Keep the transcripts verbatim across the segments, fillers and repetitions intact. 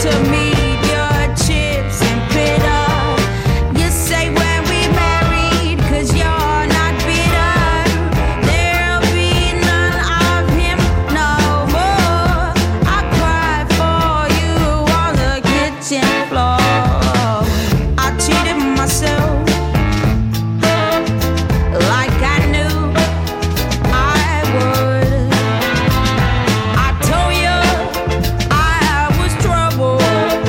I told you I was trouble.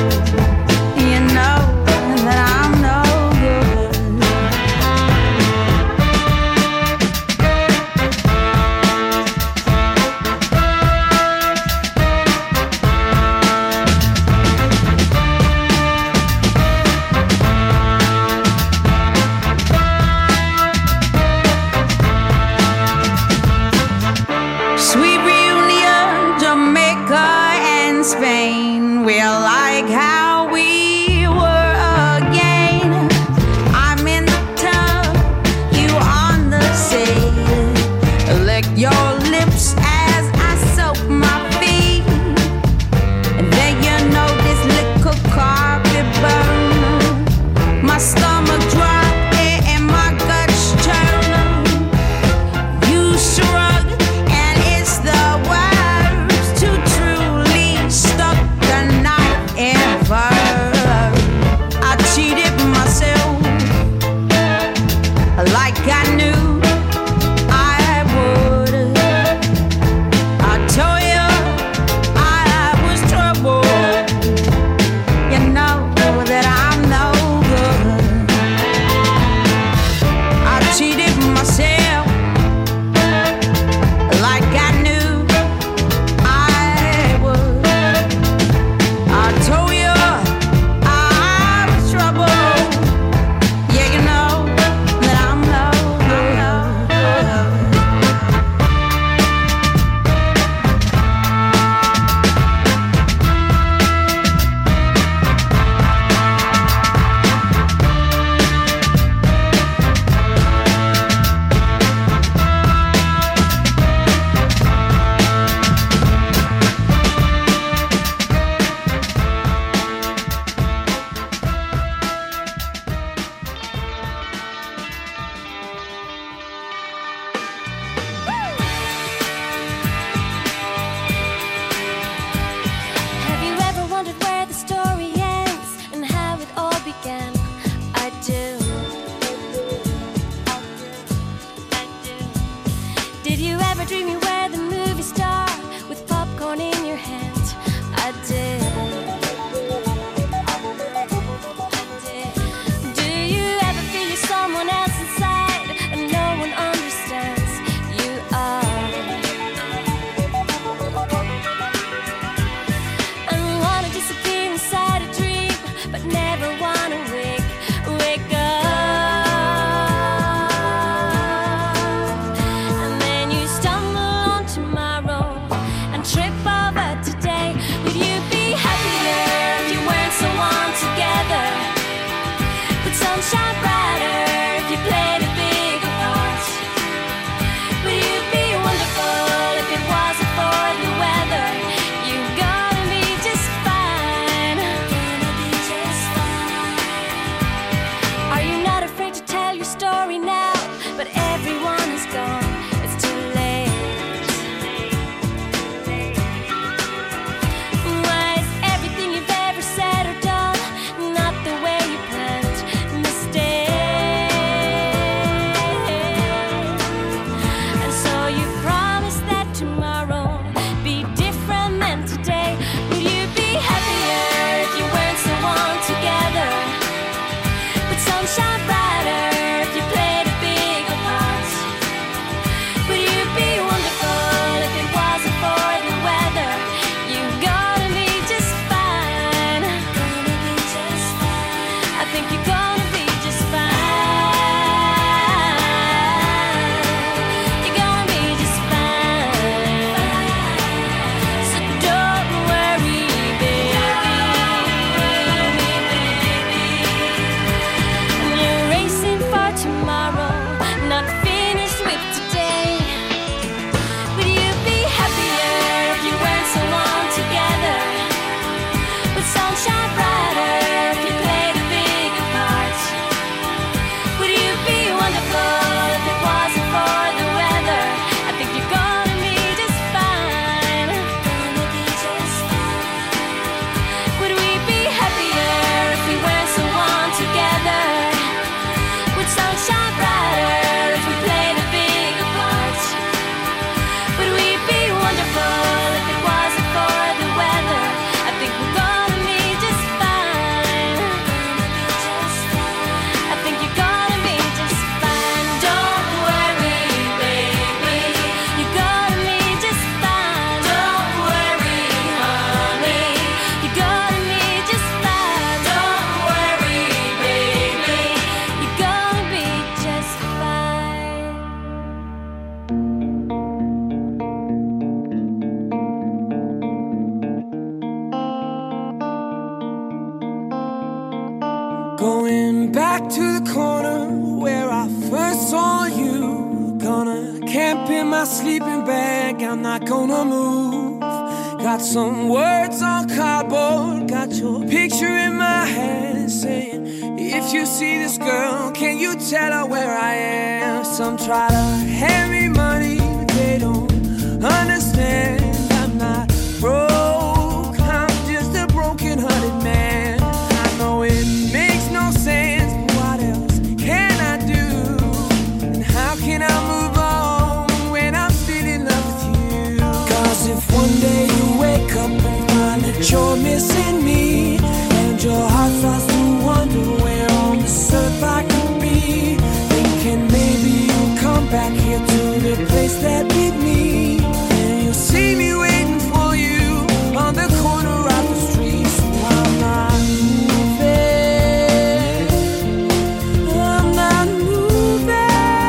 my sleeping bag, I'm not gonna move. Got some words on cardboard, got your picture in my hand, saying, if you see this girl, can you tell her where I am? Some try to hand me money, but they don't understand. I'm not broke, I'm just a broken-hearted man. I know it makes no sense, but what else can I do? And how can I move on when I'm still in love with you? Cause if one day you wake up and find that you're missing me, and your heart starts to wonder where on this earth I could be, thinking maybe you'll come back here to the place that beat me, and you'll see me waiting for you on the corner of the street. So I'm not moving, I'm not moving.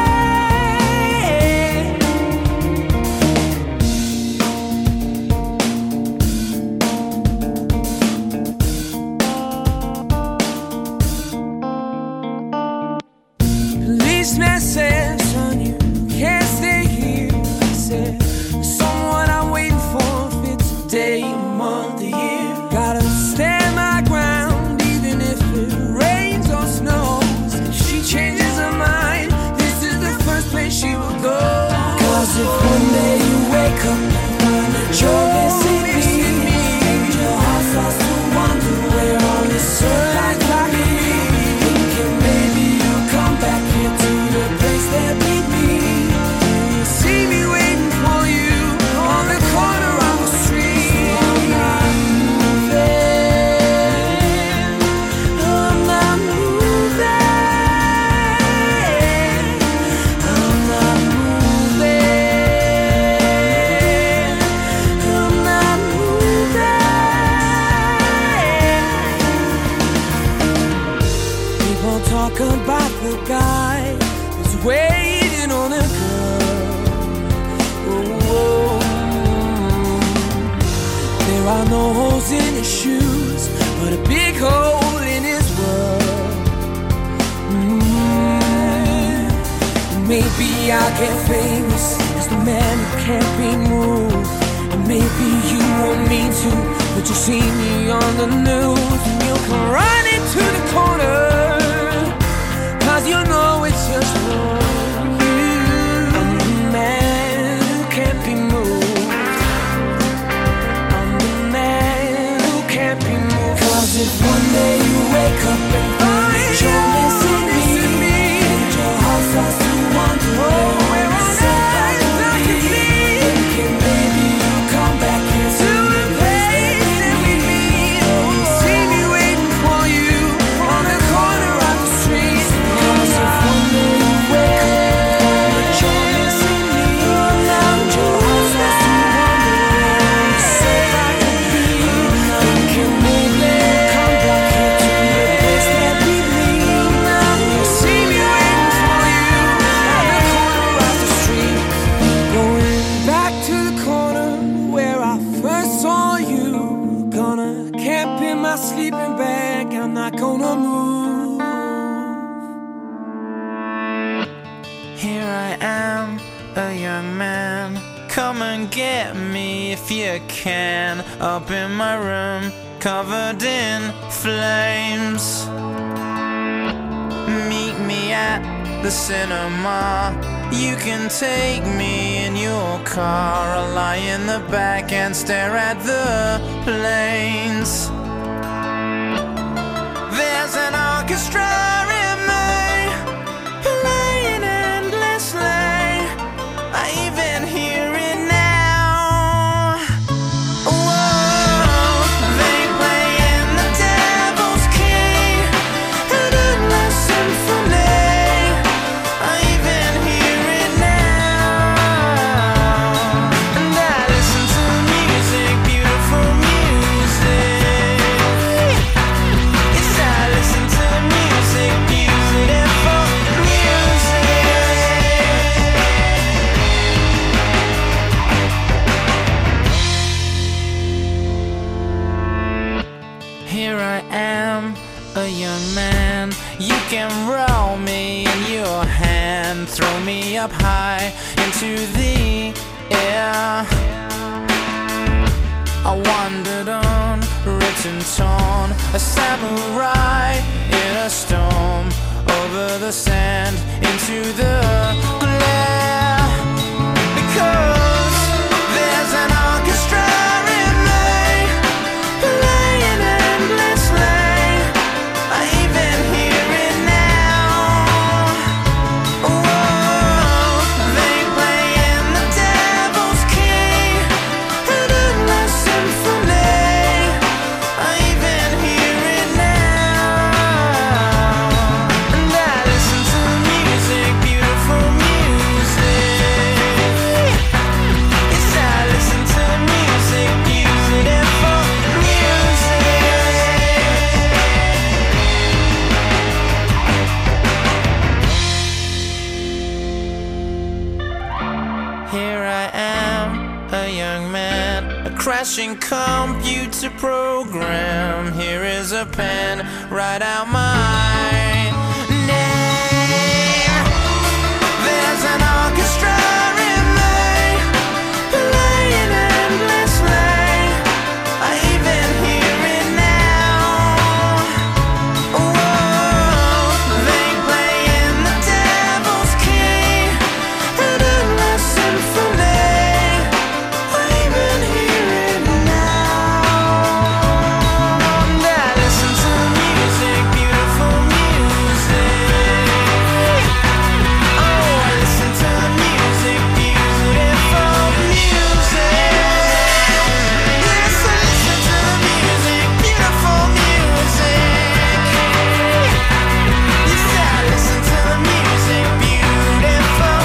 Policeman said, son, you can't stay here. I said, someone I'm waiting for, if it's a day, a month, a year. Gotta stand my ground, even if it rains or snows. If she changes her mind, this is the first place she will go. Cause if one day you wake up and find that you're missing me, and your heart starts to wonder where on this earth I could be, thinking maybe you'll come back here to the place that beat me, and you'll see me waiting for you on the corner of the street. I'm not moving, I'm not moving, I'm not moving, I'm not moving. People talk about the guy who's waiting on a girl. Oh, there are no holes in his shoes, but a big hole in his world. Mm. Maybe I'll get famous as the man who can't be moved, and maybe you won't mean to, but you'll see me on the news, and you'll come running to the corner, cause you know it's just for you. I'm the man who can't be moved, I'm the man who can't be moved. Cause if one day you wake up and find that you're missing me, and your heart starts to wonder where on this earth I could be, thinking maybe you'll come back here to the place that we meet, and you'll see me waiting for you on the corner of the street. Cause if one day you wake up and you're missing me, and your heart starts to wonder where on this earth I could be, thinking maybe you'll come back here to the place that we meet, and you'll see me waiting for you on the corner of the street. Going back to the corner where I first saw you. Gonna camp in my sleeping bag, I'm not gonna move. Here I am, a young man. Come and get me if you can. Up in my room, covered in flames. Meet me at the cinema. You can take me in your car. I'll lie in the back and stare at the planes. There's an orchestra in me, playing endlessly. I even hear it now. Whoa, they playing the Devil's Key, an endless symphony. I even hear it now, and I listen to music, beautiful music. Yes, I listen to music, beautiful music. Here I am, a young man. You can roll me in your hand, throw me up high into the and torn, a samurai in a storm, over the sand, into the glare. Because there's an orchestra in me, playing endlessly. I even hear it now. Whoa, they play in the devil's key, an endless symphony. I even hear it now. And I listen to music, beautiful music. Yes, I listen to music, beautiful music. Here I am, a young man, a crashing computer program. Here is a pen, write out my name. There's an orchestra in me, playing endlessly. I even hear it now. Whoa, they play in the devil's key, an endless symphony. I even hear it now. And I listen to music, beautiful music. Oh, I listen to music, beautiful music. Yes, I listen to music, beautiful music. Yes, I listen to music, beautiful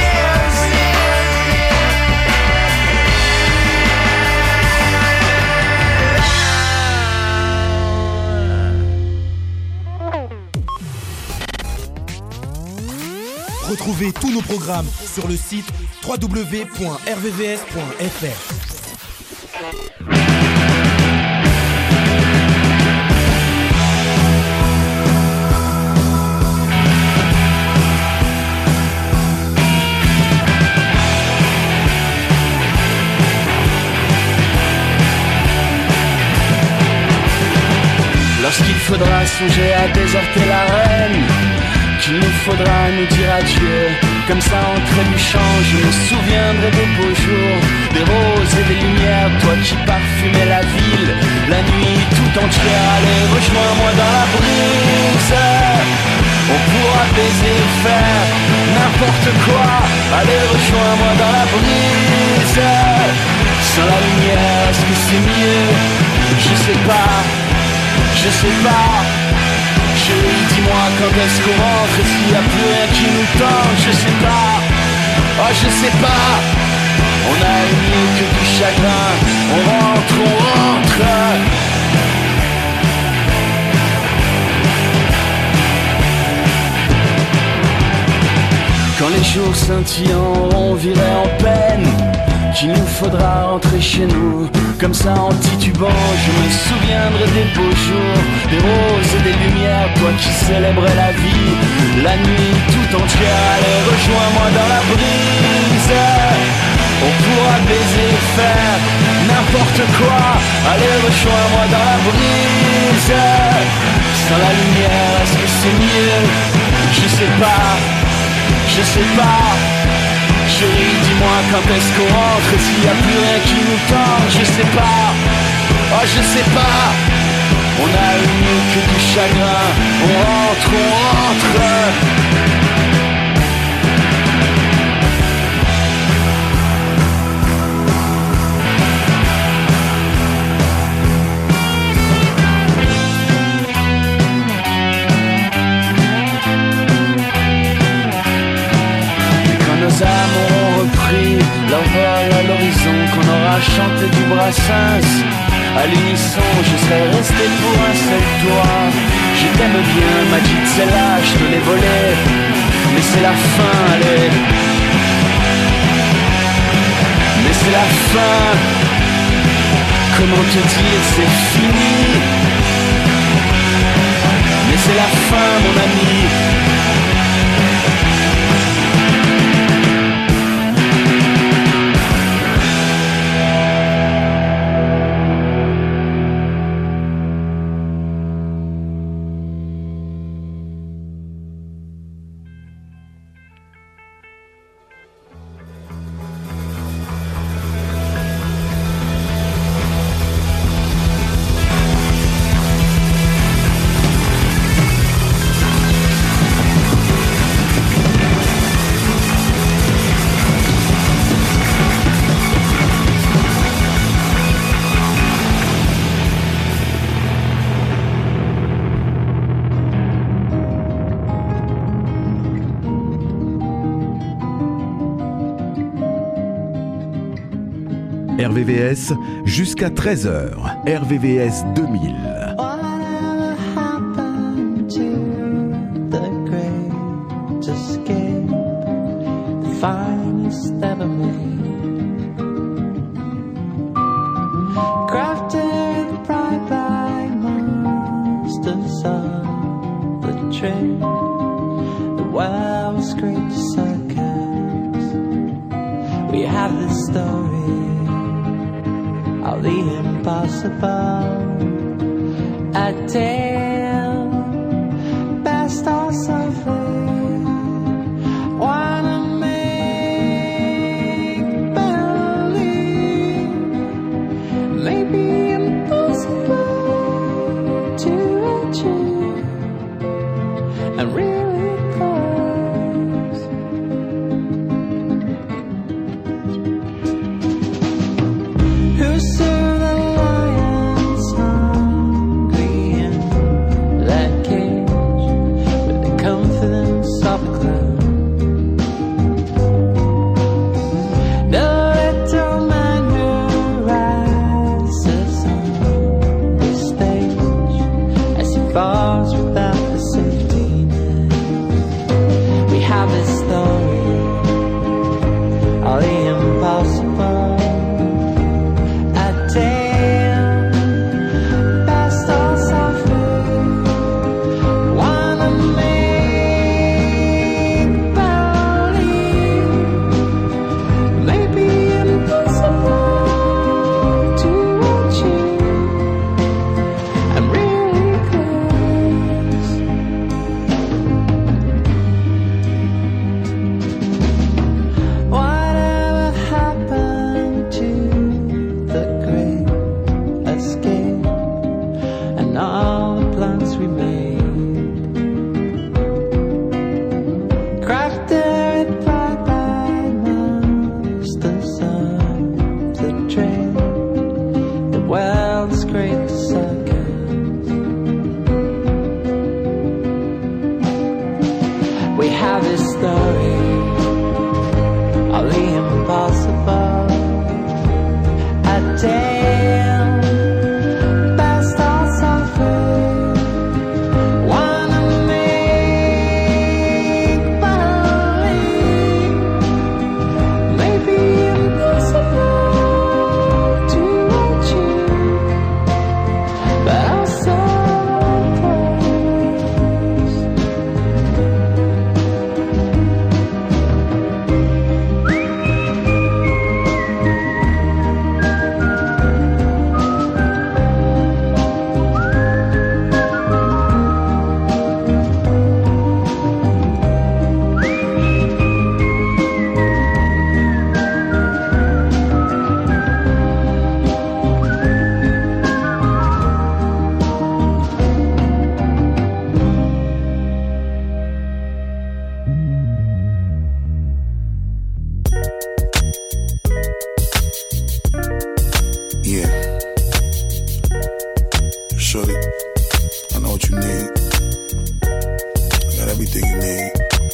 music. Retrouvez tous nos programmes sur le site w w w point r v v s point f r. Lorsqu'il faudra songer à déserter l'arène, qu'il nous faudra nous dire adieu, comme ça en trébuchant, je me souviendrai des beaux jours, des roses et des lumières, toi qui parfumais la ville, la nuit tout entière. Allez, rejoins-moi dans la brise, on pourra baiser, faire n'importe quoi. Allez, rejoins-moi dans la brise, sans la lumière, est-ce que c'est mieux? Je sais pas, je sais pas. Chérie, dis-moi quand est-ce qu'on rentre, est-ce qu'il n'y a plus rien qui nous tente? Je sais pas, oh je sais pas. On a mieux que du chagrin, on rentre, on rentre. Quand les jours scintillants auront viré en peine, qu'il nous faudra rentrer chez nous, comme ça en titubant, je me souviendrai des beaux jours, des roses et des lumières, toi qui célébrais la vie, la nuit tout entière. Allez, rejoins-moi dans la brise, on pourra baiser, faire n'importe quoi. Allez, rejoins-moi dans la brise, sans la lumière, est-ce que c'est mieux? Je sais pas, je sais pas. Chérie, dis-moi quand est-ce qu'on rentre, est-ce qu'il n'y a plus rien qui nous tente? Je sais pas, oh je sais pas. On a eu mieux que du chagrin, on rentre, on rentre. Nos âmes auront repris leur vol à l'horizon, qu'on aura chanté du Brassens à l'unisson, je serais resté pour un seul toit. Je t'aime bien, m'a dit celle-là, je te l'ai volé, mais c'est la fin, allez. Mais c'est la fin, comment te dire, c'est fini. Mais c'est la fin, mon ami. R V V S jusqu'à treize heures. R V V S deux mille. Finest ever made, crafted pride by monsters of the trade. The world's greatest circus. We have this story of the impossible, a tale best or suffering. Wanna maybe impossible to achieve, and really close. Who served the lions hungry in that cage with the confidence of a clown? The little man who rises on the stage as he falls without the safety net. We have a story of the impossible, a tale best or suffering. Wanna make believe, maybe impossible to achieve, I'm really close. Whatever happened to the great escape and all the plans we made? Crafted by masters of the trade, the world's greatest circus. We have this story of the impossible, a tale best or suffering. Wanna make believe, maybe impossible to achieve, but I'll so close. Yeah. Shorty, I know what you need. I got everything you need.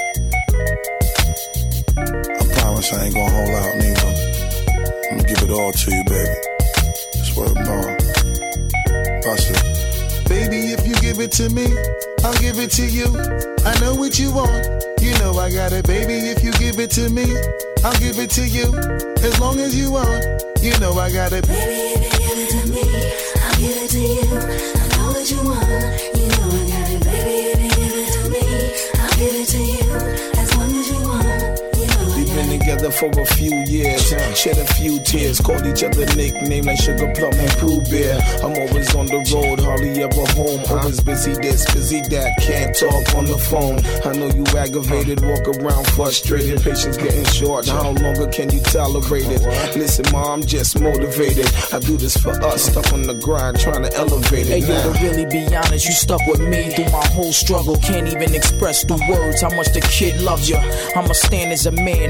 I promise I ain't gonna hold out neither. I'm gonna give it all to you, baby. Swear to God. Bust it. Baby, if you give it to me, I'll give it to you. I know what you want. You know I got it, baby. If you give it to me, I'll give it to you. As long as you want. You know I got it. Baby, if you give it to me, I'll give it to you. I know what you want. You know I got it. Baby, if you give it to me, I'll give it to you. As long as you want. You know I We've got been it. together for a few years, shed a few tears, called each other nicknames like Sugar Plum and Pooh Bear. I'm always on the road, hardly ever home. Always busy this, busy that, can't talk on the phone. I know you aggravated, walk around frustrated, patience getting short. How longer can you tolerate it? Listen, ma, I'm just motivated. I do this for us, stuck on the grind, trying to elevate it. Hey, yo, to really be honest, you stuck with me through my whole struggle. Can't even express through words how much the kid loves you. I'ma stand as a man, never a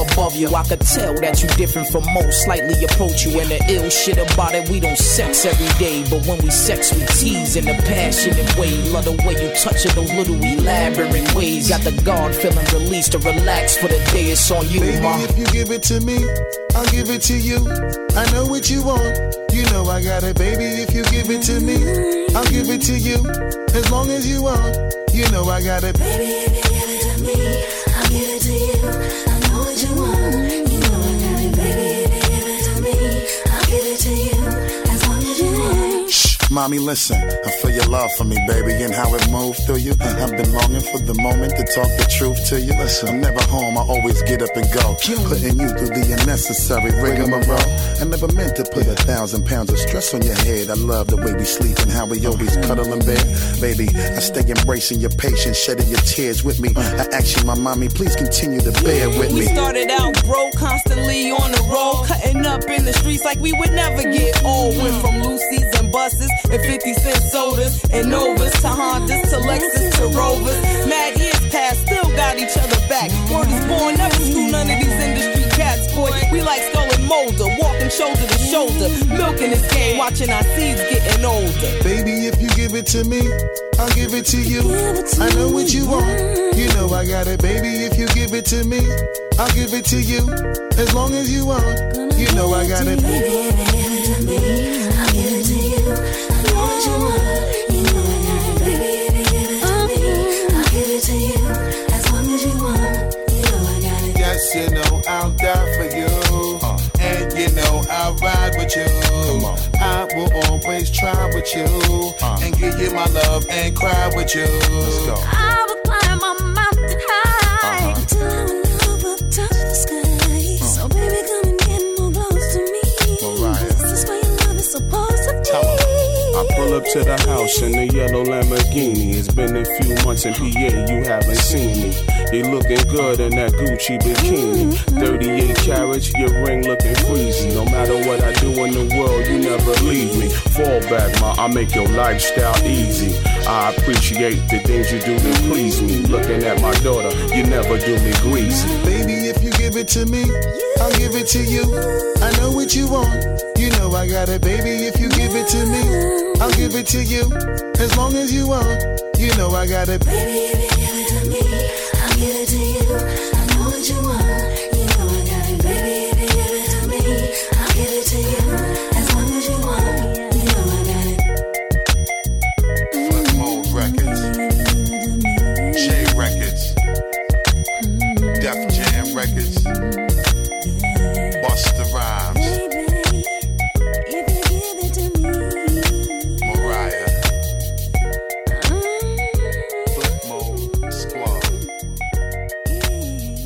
above you. I could tell that you different from most, slightly approach you. And the ill shit about it, we don't sex every day, but when we sex, we tease in a passionate way. Love the way you touch it, those little elaborate ways. Got the guard feeling released to relax for the day. It's on you, baby, ma. If you give it to me, I'll give it to you. I know what you want, you know I got it, baby. If you give it to me, I'll give it to you. As long as you want, you know I got it, baby. If you give it to me, I'll give it to you. I know what you want, you know I got it, baby. If you give it to me, I'll give it to you. As long as you want. Shh, mommy, listen. I feel your love for me, baby, and how it moved through you. I've been longing for the moment to talk the truth to you. Listen, I'm never home, I always get up and go, putting you through the unnecessary rigmarole. I never meant to put a thousand pounds of stress on your head. I love the way we sleep and how we always cuddle in bed. Baby, I stay embracing your patience, shedding your tears with me. I ask you, my mommy, please continue to bear with me. We started out broke, constantly on the road, cutting up in the streets like we would never get old. Went from Lucy's and buses and fifty cent sodas and Novas to Hondas to Lexus to Rovers. Mad years past, still got each other back. Word is born, never school none of these industry cats, boy. We like Skull and Molder, walking shoulder to shoulder, milking this game, watching our seeds getting older. Baby, if you give it to me, I'll give it to you. I know what you want, you know I got it, baby. If you give it to me, I'll give it to you. As long as you want, you know I got it, baby. If you give it to me, I'll give it to you. I know what you want, you know I got it, baby. If you give it to me, I'll give it to you. As long as you want, you know I got it. Yes, you know I'll die for you, uh, and you know I'll ride with you. Come on. I will always try with you, uh, and give you my love and cry with you. Let's go. I will climb a mountain high, uh-huh, until our love will touch the sky. Uh, so baby, come and get more close to me. Mariah. This is where your love is supposed to be. Tell her. I pull up to the house in the yellow Lamborghini. It's been a few months in P A, you haven't seen me. You looking good in that Gucci bikini. thirty-eight carats, your ring looking freezy. No matter what I do in the world, you never leave me. Fall back, ma, I make your lifestyle easy. I appreciate the things you do to please me. Looking at my daughter, you never do me greasy. Baby, if you give it to me, I'll give it to you. I know what you want, you know I got it, baby. If you give it to me, I'll give it to you. As long as you want, you know I got it, baby. If you give it to me, I'll give it to you. I know what you want, you know I got it, baby. If you give it to me, I'll give it to you. As long as you want, you know I got it. Flip Mode Records, J Records, Def Jam Records, Busta Rhymes, Mariah, Flip Mode Squad.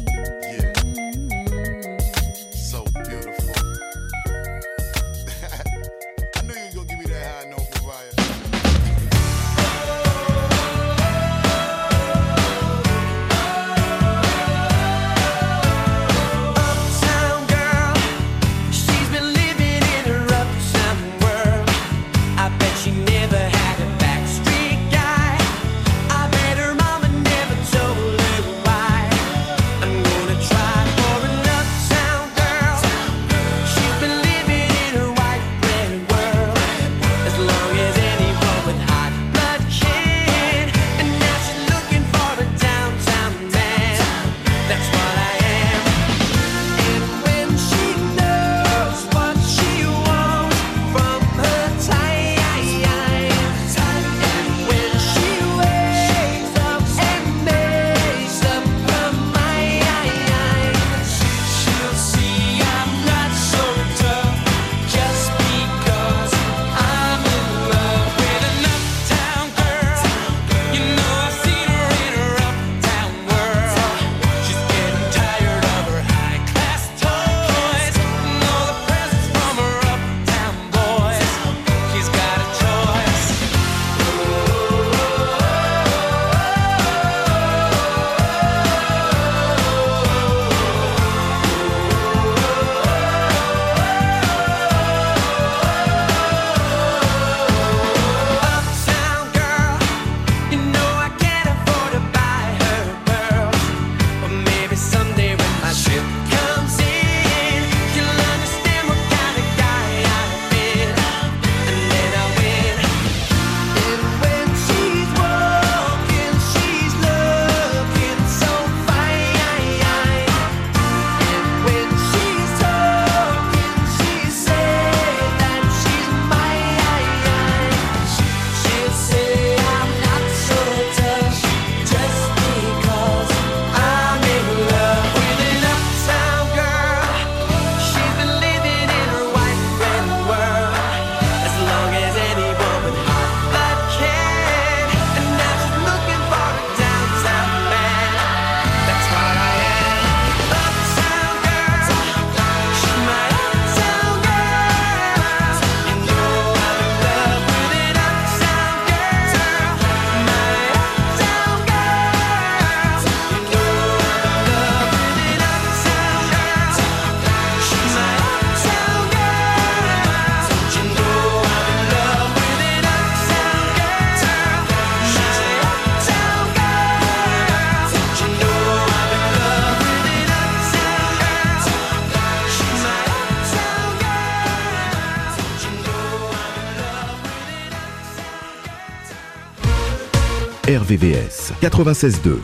R V V S quatre-vingt-seize deux.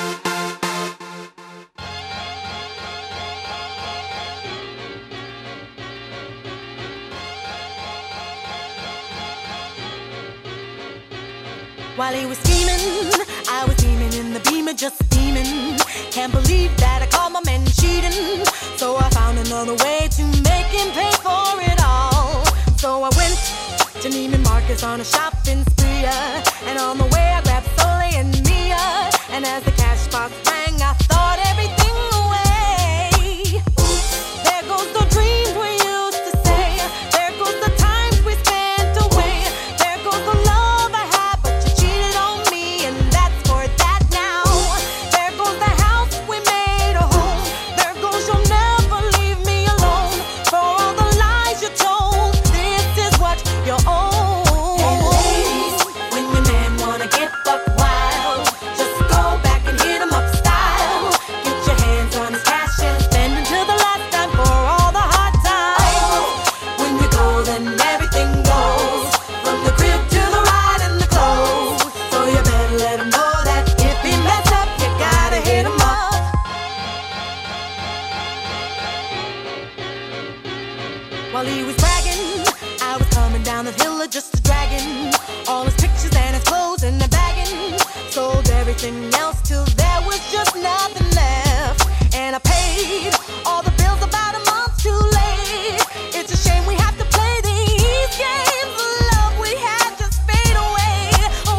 While he was scheming, I was beaming in the beamer, just steaming. Can't believe that I caught my man cheating. So I found another way to make him pay for it all. So I went to Neiman Marcus on a shopping spree, uh, and on the way I grabbed Soleil and Mia. And as the cash box rang, I thought everything away. There goes the dreams we used to say. There goes the times we spent away. There goes the love I had, but you cheated on me, and that's for that now. There goes the house we made a home. There goes you'll never leave me alone. For all the lies you told, this is what you own. Hey ladies, when your man wanna get buck wild, just go back and hit him up style. Get your hands on his cash and spend until the last time for all the hard times. When you go, then everything goes, from the crib to the ride and the clothes. So you better let him know that if he mess up, you gotta hit him up. While he was bragging, I was coming down the hill of just a dragon. All his pictures and his clothes and the bagging. Sold everything else till there was just nothing left. And I paid all the bills about a month too late. It's a shame we have to play these games. The love we had just fade away,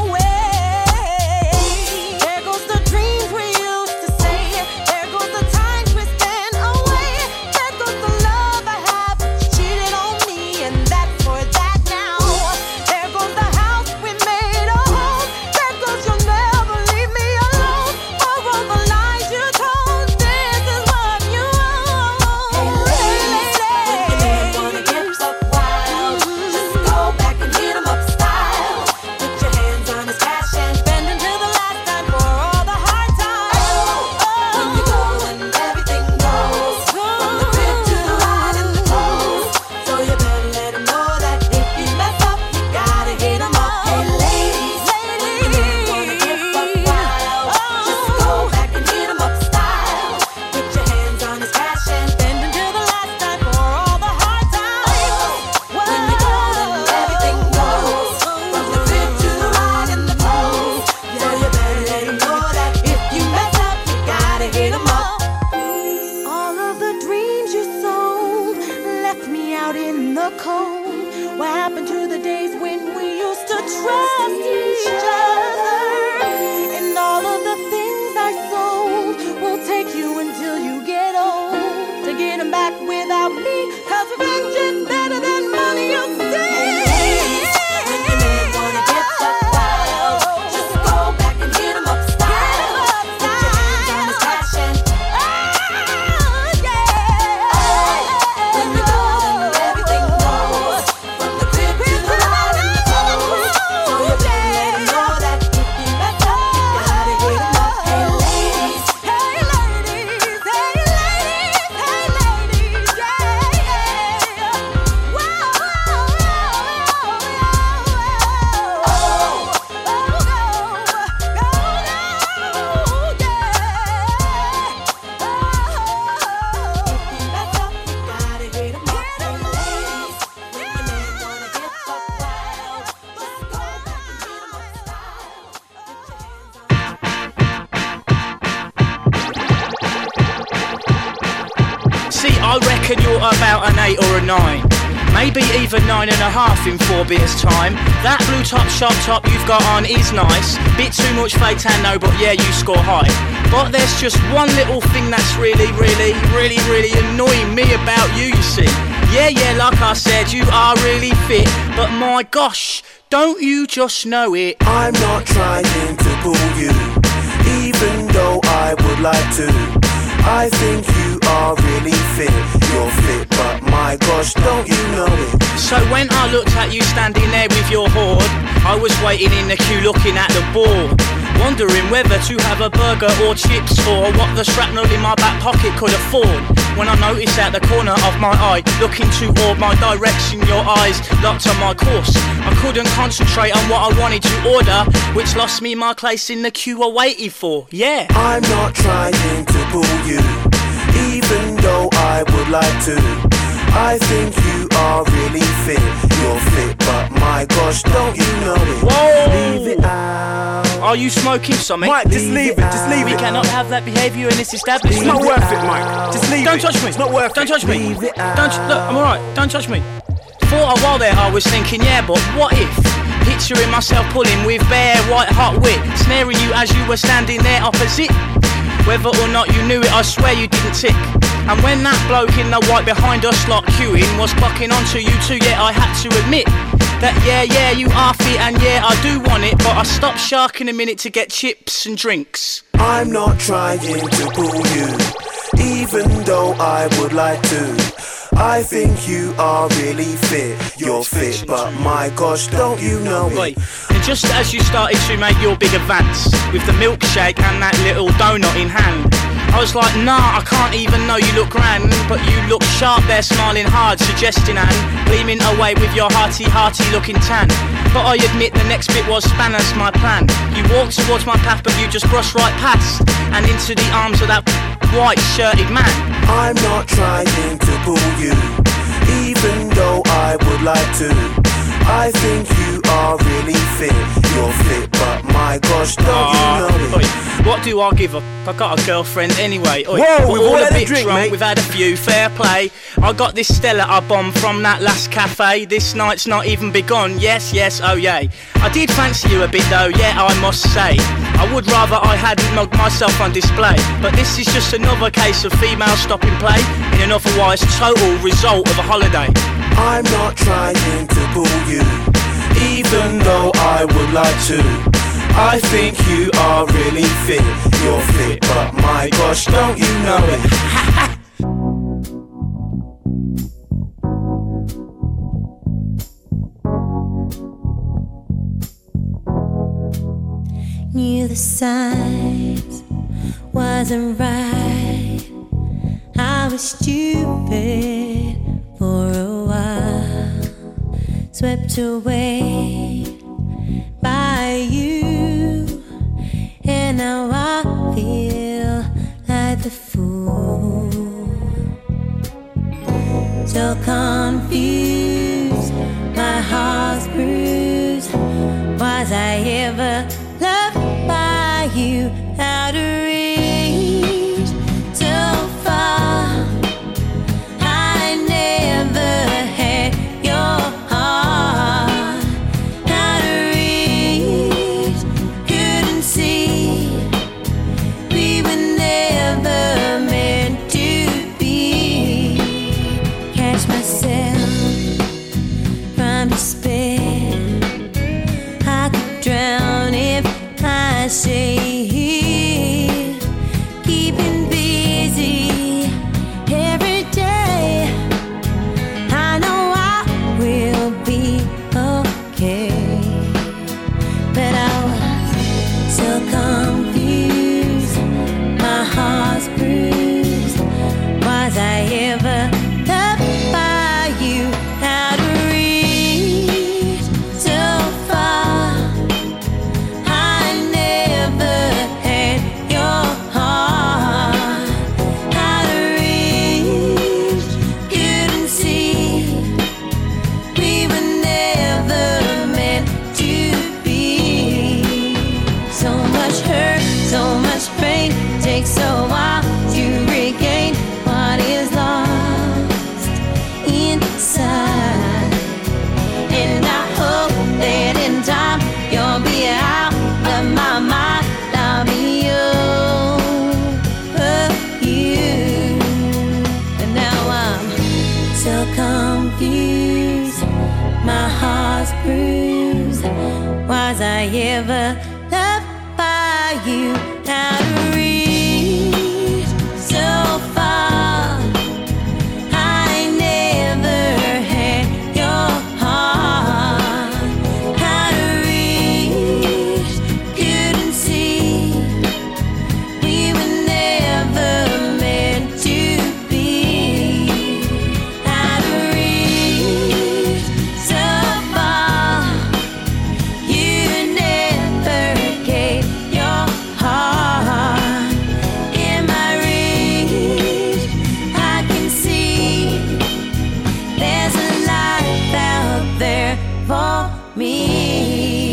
away. There goes the dreams we used to say. There goes the times we spent away. There goes the love I had, but you cheated on me, and that's for that now. There goes the house we made a home. There goes you'll never leave me alone. For all the lies you told, this is what you own. Hey ladies, when your man wanna get buck wild, just go back and hit him up style. Put your hands on his cash and spend until the last time for all the hard times. When you go, then everything goes, from the crib to the ride and the clothes. So you better let him know that if you mess up, you gotta hit him up. Hey ladies, when your man wanna get buck wild, just go back and hit him up style. Put your hands on his cash and spend until the last time for all the hard times. When you go, then everything goes, from the crib to the ride and the clothes. So you better let him know that if you mess up, you gotta hit him up. All of the dreams you sold left me out in the cold. What happened to the days when we used to trust each other? And all of the things I sold will take you until you get old to get them back without me. Cause revenge is better than money, you see. When your man wanna get buck wild, just go back and hit him up style. Put your hands on his cash and when you go, then everything goes, from the crib to the ride and the clothes. So you better let him know that if you mess up, you gotta hit him up. Hey ladies, hey ladies, hey ladies, hey ladies, yeah, yeah. Whoa, whoa, whoa, whoa, whoa. Oh, oh, go, go, go, yeah. Oh, if you mess up, you gotta hit him up. Hey ladies, when your man wanna get buck wild, just go back and hit him up style. Put your hands on. See, I reckon you're about an eight or a nine. Maybe even nine and a half in four beers time. That blue top shop top you've got on is nice. Bit too much fake tan, no, but yeah, you score high. But there's just one little thing that's really, really, really, really annoying me about you, you see. Yeah, yeah, like I said, you are really fit. But my gosh, don't you just know it? I'm not trying to pull you, even though I would like to. I think you are really fit. You're fit, but my gosh, don't you know it? So when I looked at you standing there with your hoard, I was waiting in the queue looking at the board. wondering whether to have a burger or chips, or what the shrapnel in my back pocket could afford. When I noticed out the corner of my eye, looking toward my direction, your eyes locked on my course. I couldn't concentrate on what I wanted to order, which lost me my place in the queue I waited for. Yeah. I'm not trying to pull you, even though I would like to. I think you are really fit. You're fit, but my gosh, don't you know it? Whoa! Leave it out. Are you smoking something? Mike, just leave it, just leave we it. We cannot have that behaviour in this establishment. It's not worth it, Mike. Just leave Don't it. touch me. It's not worth Don't it. touch me. Leave it Don't look, I'm alright. Don't touch me. For a while there I was thinking, yeah, but what if? Picturing myself pulling with bare white hot wit, snaring you as you were standing there opposite. Whether or not you knew it, I swear you didn't tick. And when that bloke in the white behind us lot queuing was clocking onto you too, yeah, I had to admit that yeah, yeah, you are fit and yeah, I do want it, but I stopped sharking a minute to get chips and drinks. I'm not trying to pull you, even though I would like to. I think you are really fit. You're fit, but my gosh, don't you know it? Wait, and just as you started to make your big advance with the milkshake and that little donut in hand, I was like, nah, I can't even know you look grand, but you look sharp there, smiling hard, suggesting and gleaming away with your hearty, hearty looking tan. But I admit the next bit was spanners my plan. You walked towards my path, but you just brushed right past and into the arms of that white shirted man. I'm not trying to pull you, even though I would like to. I think you are really fit. You're fit, but my gosh, don't uh, you know it? Oi, what do I give a f***? I got a girlfriend anyway. Oi, Whoa, we're we've all all a had a bit drink, drunk, mate. we've had a few, fair play. I got this Stella I bombed from that last cafe. This night's not even begun, yes, yes, oh yay. I did fancy you a bit though, yeah, I must say. I would rather I hadn't mugged myself on display. But this is just another case of female stopping play in an otherwise total result of a holiday. I'm not trying to pull you, even though I would like to. I think you are really fit. You're fit, but my gosh, don't you know it? Knew the signs wasn't right. I was stupid for a while, swept away by you, and now I feel like the fool. So confused, my heart's bruised. Was I ever loved by you? Out of reach, so far. I never had your heart. Out of reach, couldn't see. We were never meant to be. Catch myself from despair. I could drown if I say. Keeping busy every day. I know I will be okay, but I was so confused. My heart's bruised. Was I ever loved by you? Out of reach, so far. I never had your heart. Out of reach, couldn't see. We were never meant to be. So much hurt, so much pain. Takes a while to regain what is lost inside. And I hope that in time you'll be out of my mind. I'll be over you. And now I'm so confused. My heart's bruised. Was I ever loved by you? Out of reach, so far. I never had your heart. Out of reach, couldn't see. me.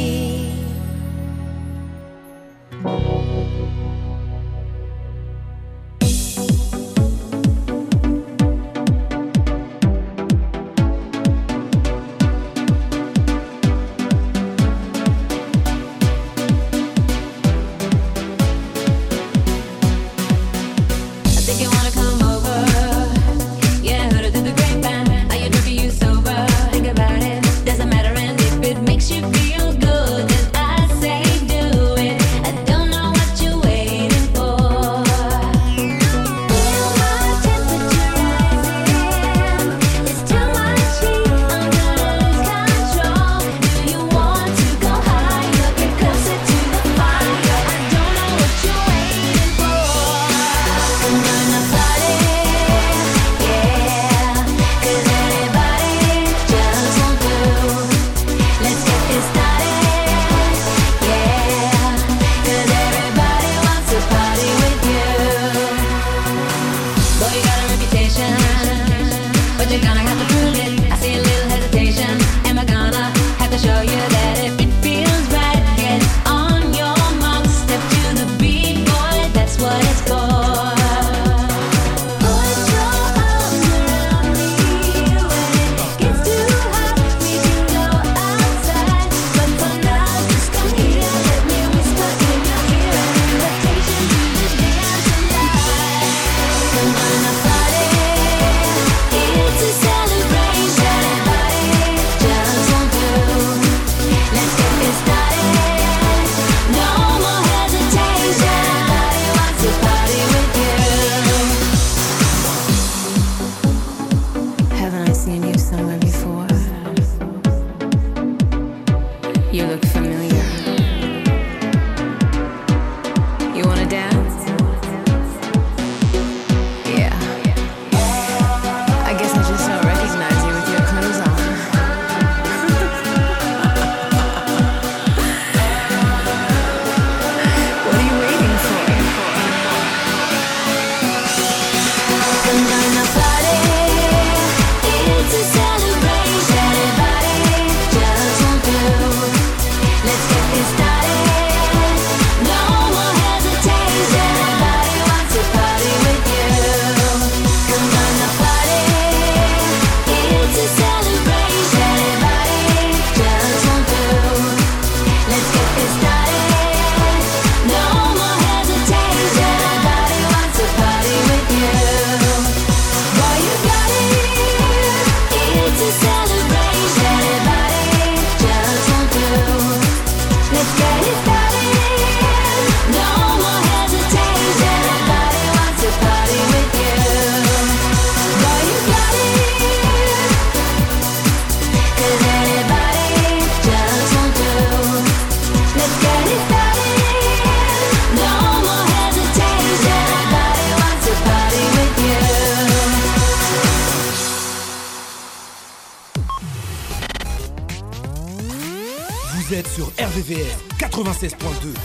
Vous êtes sur R V V S quatre-vingt-seize point deux.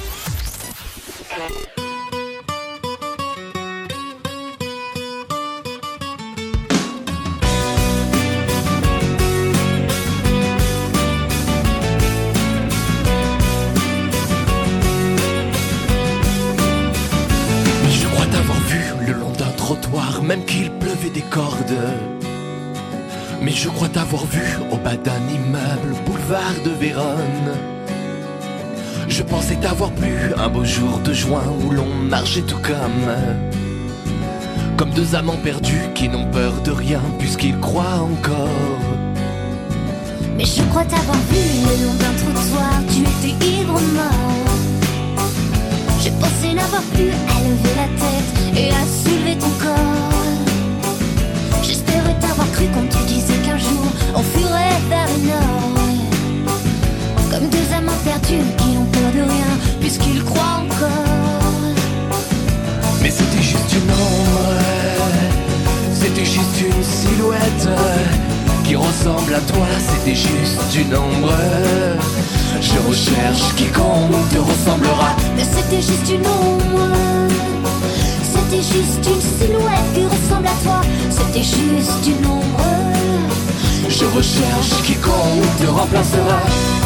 Je crois t'avoir vu le long d'un trottoir, même qu'il pleuvait des cordes. Mais je crois t'avoir vu au bas d'un immeuble, boulevard de Vérone. Je pensais t'avoir plu un beau jour de juin où l'on marchait tout comme Comme deux amants perdus qui n'ont peur de rien puisqu'ils croient encore. Mais je crois t'avoir vu le long d'un trottoir, tu étais ivre mort. Je pensais n'avoir plus à lever la tête et à soulever ton corps. J'espérais t'avoir cru quand tu disais qu'un jour on fuirait vers le nord. Comme deux amants perdus qui n'ont peur de rien puisqu'ils croient encore. Mais c'était juste une ombre, c'était juste une silhouette qui ressemble à toi, c'était juste une ombre. Je recherche quiconque te ressemblera. Mais c'était juste une ombre, c'était juste une silhouette qui ressemble à toi. C'était juste une ombre. Je recherche quiconque te remplacera.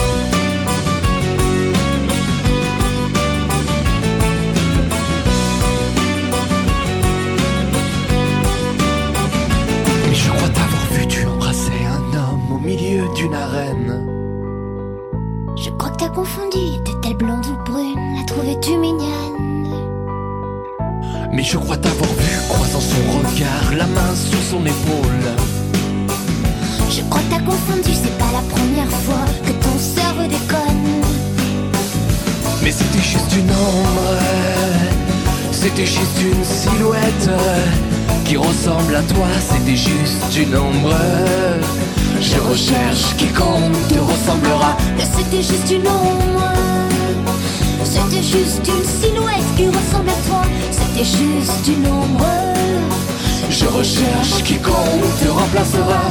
Mais je crois t'avoir vu, tu embrassais un homme au milieu d'une arène. Je crois que t'as confondu, était-elle blonde ou brune? La trouvais-tu mignonne? Mais je crois t'avoir vu, croisant son regard, la main sur son épaule. Je crois que t'as confondu, c'est pas la première fois que ton cerveau déconne. Mais c'était juste une ombre, c'était juste une silhouette qui ressemble à toi, c'était juste une ombre. Je recherche quiconque te ressemblera. Mais c'était juste une ombre, c'était juste une silhouette qui ressemble à toi. C'était juste une ombre. Je recherche quiconque te remplacera.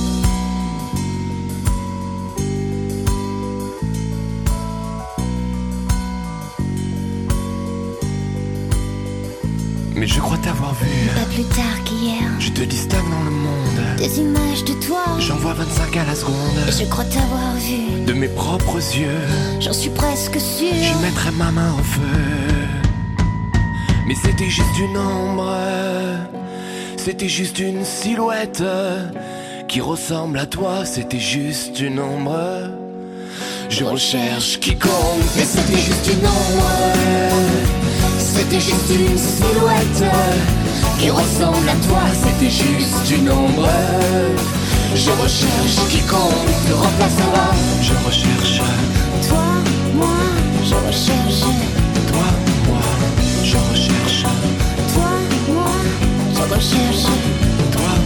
Mais je crois t'avoir vu. Pas plus tard qu'hier. Je te distingue dans le monde. Des images de toi. J'en vois vingt-cinq à la seconde. Et je crois t'avoir vu. De mes propres yeux. J'en suis presque sûre. Je mettrai ma main au feu. Mais c'était juste une ombre. C'était juste une silhouette qui ressemble à toi. C'était juste une ombre. Je recherche quiconque. Mais c'était juste une ombre. C'était juste une silhouette qui ressemble à toi. C'était juste une ombre. Je recherche quiconque te remplacera. Je recherche toi, moi, je recherche toi, moi, je recherche toi, moi, je recherche toi, moi.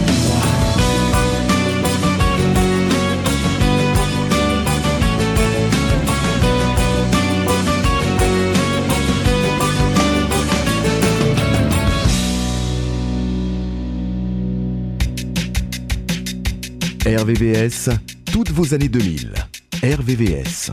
R V V S, toutes vos années deux mille. R V V S.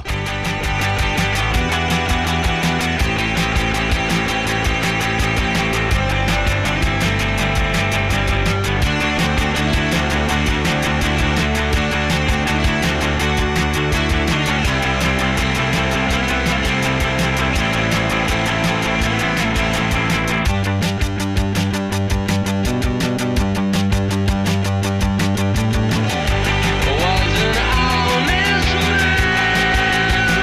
Wasn't honest man.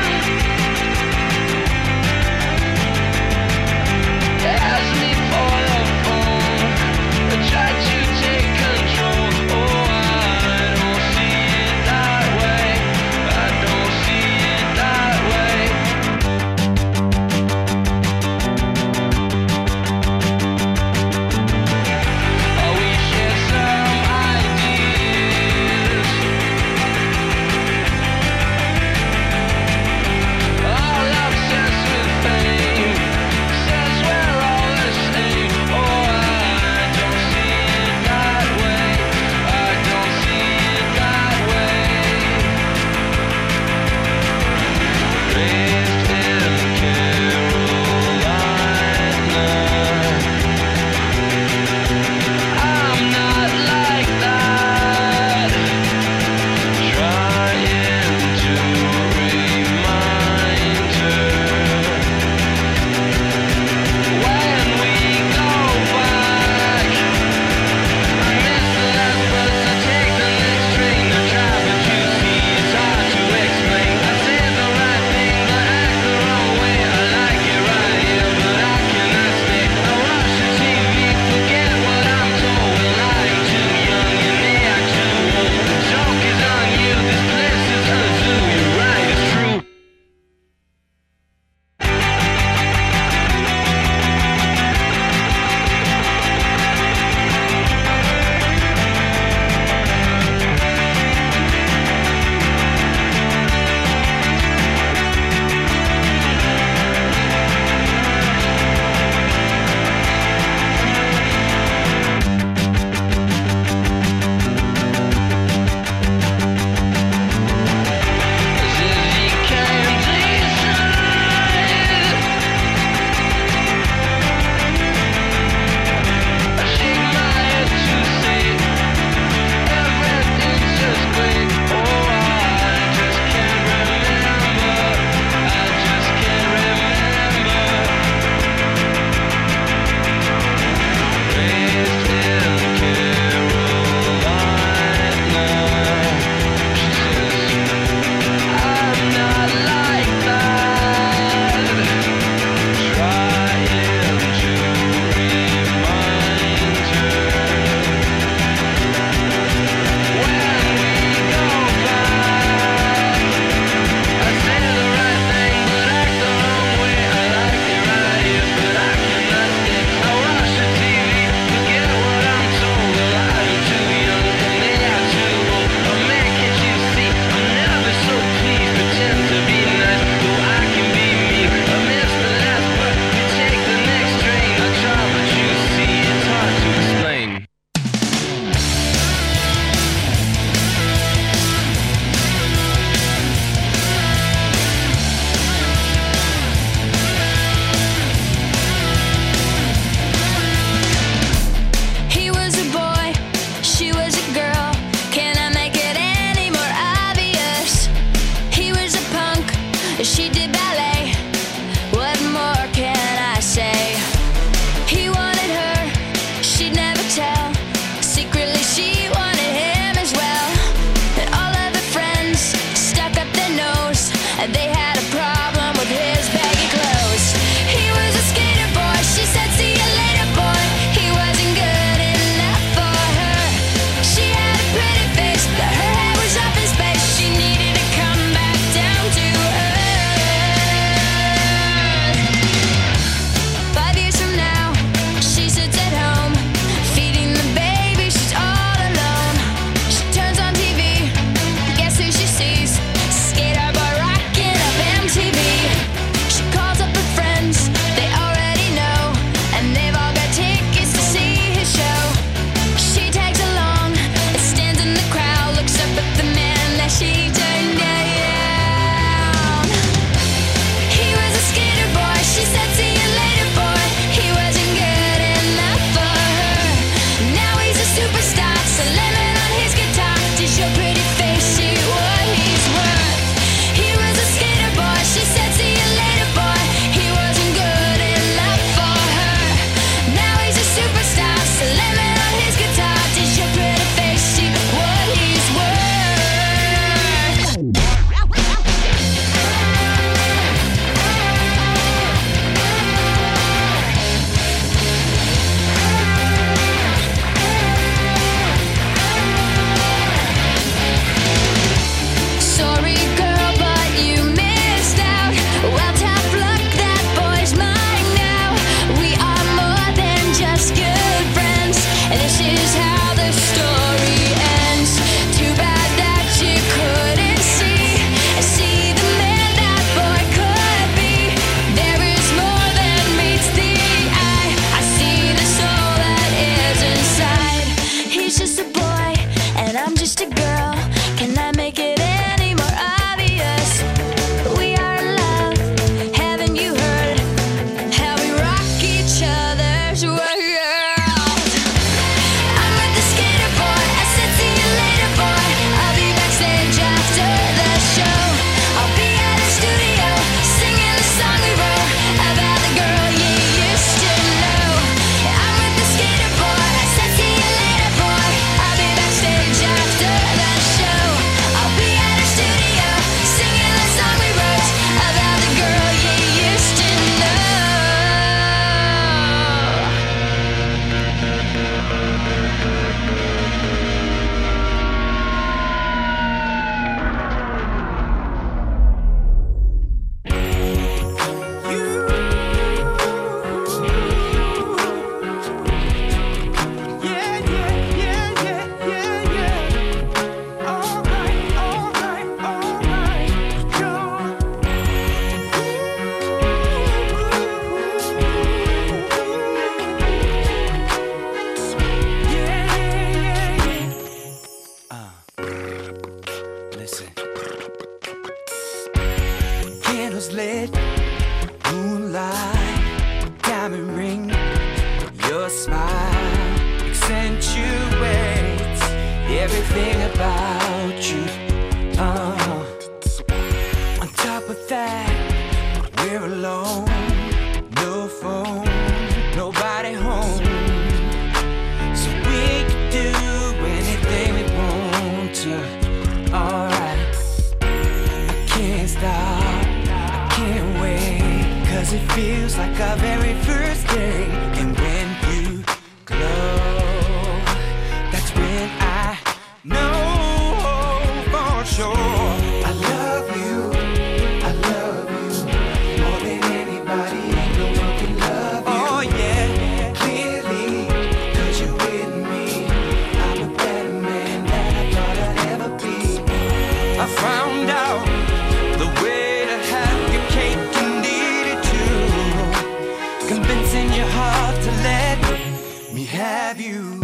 candles lit, moonlight, diamond ring. Your smile accentuates everything about you. Uh, on top of that, we're alone, no phone, nobody home. So we can do anything we want to. Alright, I can't stop, I can't wait, cause it feels like our very first day. And when you glow, that's when I know for sure. I love you, I love you more than anybody. No one can love you. Oh yeah, clearly, cause you're with me. I'm a better man than I thought I'd ever be. I found out the way to have your cake and eat it too. Convincing your heart to let me have you.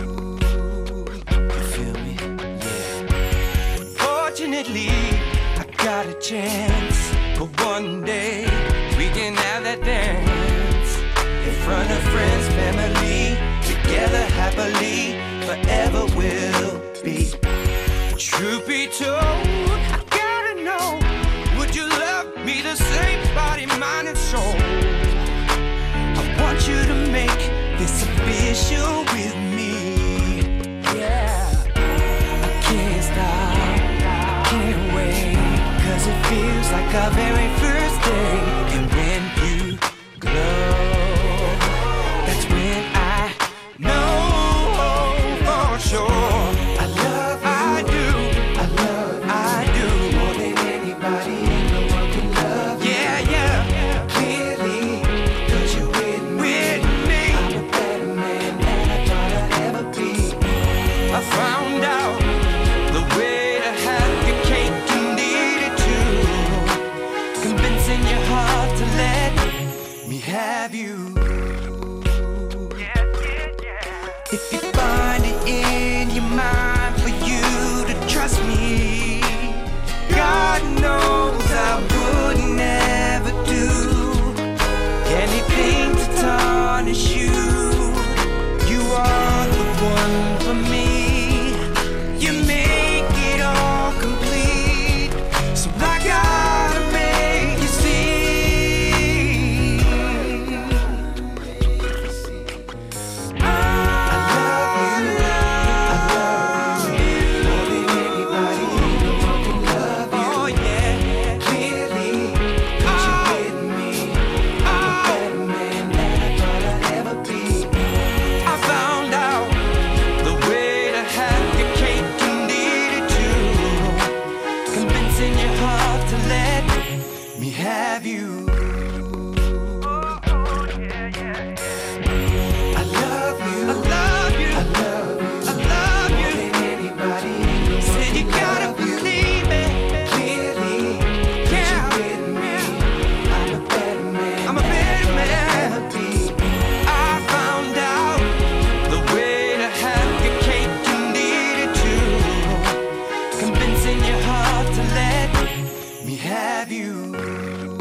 You feel me? Yeah. Fortunately, I got a chance. But one day we can have that dance in front of friends, family, together happily, forever will be. Truth be told, I gotta know, would you love me the same, body, mind, and soul? I want you to make this official with me. Yeah, I can't stop, I can't wait, cause it feels like our very first day. And when you glow, that's when I know for sure. I love you, I do, I love you, I do more than anybody. No one can love you. Yeah, yeah, clearly, cause you're with me. With me. I'm a better man than I thought I'd ever be. I found out the way to have your cake and eat it too. Convincing your heart to let me have you. If you find it in your mind for you to trust me, God knows I would never do anything to tarnish you. You are the one for me. You make it all complete. So I gotta make you see. Have you? I love you, I love you, I love you, I love you more than anybody. Said you gotta believe it. Clearly, yeah, you're with me. I'm a better man. I'm a better man. I found out the way to have your cake and eat it too. Convincing your heart to let me have you.